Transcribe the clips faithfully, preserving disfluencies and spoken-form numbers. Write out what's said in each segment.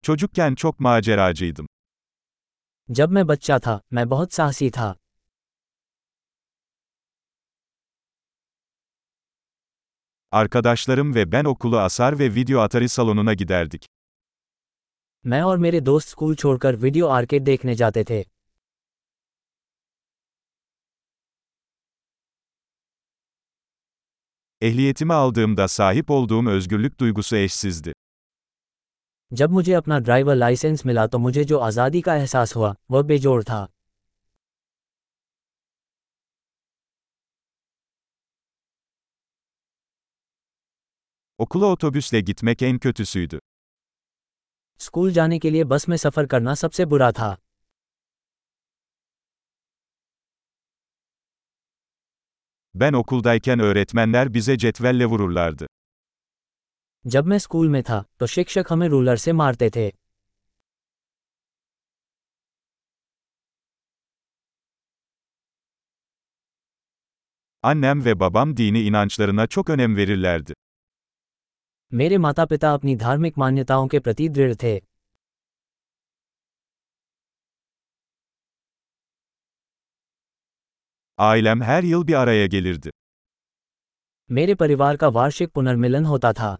Çocukken çok maceracıydım. जब मैं बच्चा था, मैं बहुत साहसी था। Arkadaşlarım ve ben okulu asar ve video atari salonuna giderdik. मैं और मेरे दोस्त स्कूल छोड़कर वीडियो आर्केड देखने जाते थे। Ehliyetimi aldığımda sahip olduğum özgürlük duygusu eşsizdi. जब मुझे अपना ड्राइवर लाइसेंस मिला तो मुझे जो आज़ादी का एहसास हुआ, वह बेजोड़ था। Okula otobüsle gitmek en kötüsüydü. School जाने के लिए बस में सफ़र करना सबसे बुरा था। Ben okuldayken öğretmenler bize cetvelle vururlardı. जब मैं स्कूल में था, तो शिक्षक हमें रूलर से मारते थे। Annem ve babam dini inançlarına çok önem verirlerdi. मेरे माता पिता अपनी धार्मिक मान्यताओं के प्रति दृढ़ थे। Ailem her yıl bir araya gelirdi. मेरे परिवार का वार्षिक पुनर्मिलन होता था।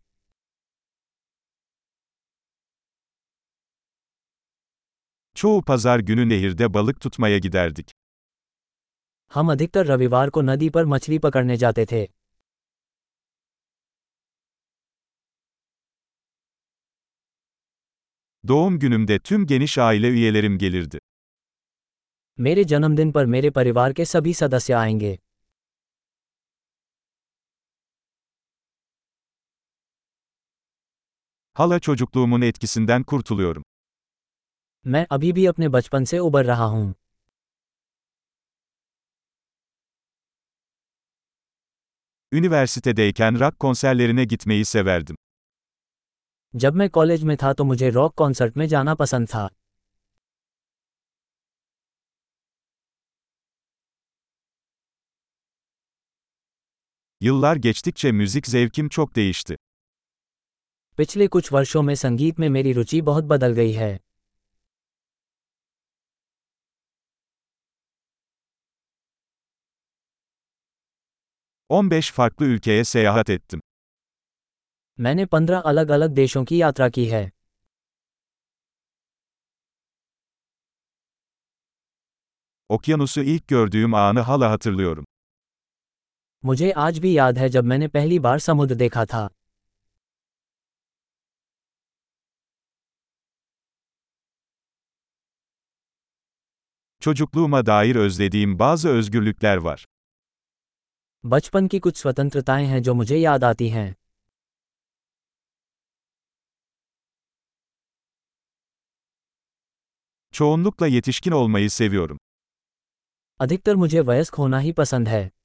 Çoğu pazar günü nehirde balık tutmaya giderdik. हम अधिकतर रविवार को नदी पर मछली पकड़ने जाते थे। Doğum günümde tüm geniş aile üyelerim gelirdi. मेरे जन्मदिन पर मेरे परिवार के सभी सदस्य आएंगे। Hala çocukluğumun etkisinden kurtuluyorum. मैं अभी भी अपने बचपन से उबर रहा हूँ। Üniversitedeyken rock konserlerine gitmeyi severdim. जब मैं कॉलेज में था तो मुझे रॉक कॉन्सर्ट में जाना पसंद था। Yıllar geçtikçe müzik zevkim çok değişti. पिछले कुछ वर्षों में संगीत में मेरी रुचि बहुत बदल गई है। on beş farklı ülkeye seyahat ettim. मैंने पंद्रह अलग अलग देशों की यात्रा की है। Okyanusu ilk gördüğüm anı hala hatırlıyorum. मुझे आज भी याद है जब मैंने पहली बार समुद्र देखा था। Çocukluğuma dair özlediğim bazı özgürlükler var. बचपन की कुछ स्वतंत्रताएं हैं जो मुझे याद आती हैं। Çoğunlukla yetişkin olmayı seviyorum. अधिकतर मुझे वयस्क होना ही पसंद है।